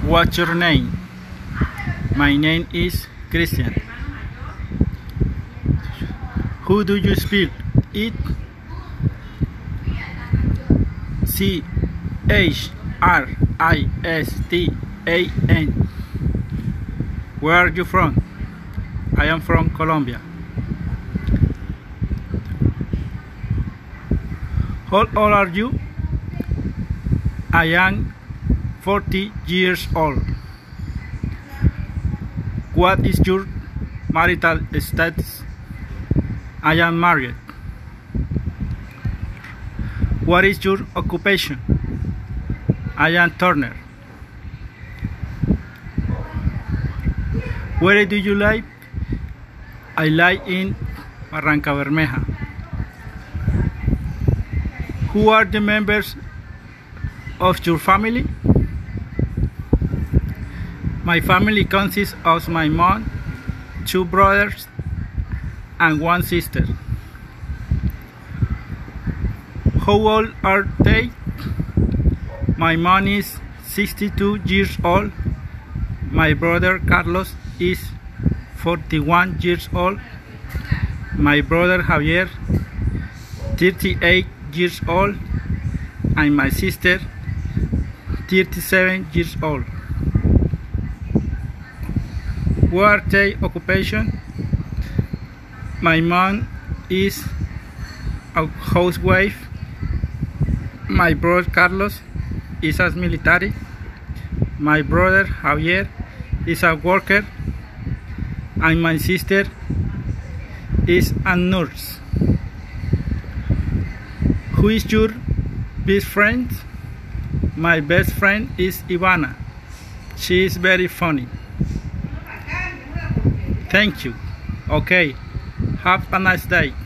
What's your name? My name is Christian. Who do you spell it? Christian. Where are you from? I am from Colombia. How old are you? I am 40 years old. What is your marital status? I am married. What is your occupation? I am turner. Where do you live? I live in Barrancabermeja. Who are the members of your family? My family consists of my mom, 2 brothers, and 1 sister. How old are they? My mom is 62 years old. My brother Carlos is 41 years old. My brother Javier, 38 years old. And my sister, 37 years old. What are their occupation? My mom is a housewife. My brother Carlos is a military. My brother Javier is a worker. And my sister is a nurse. Who is your best friend? My best friend is Ivana. She is very funny. Thank you. Okay. Have a nice day.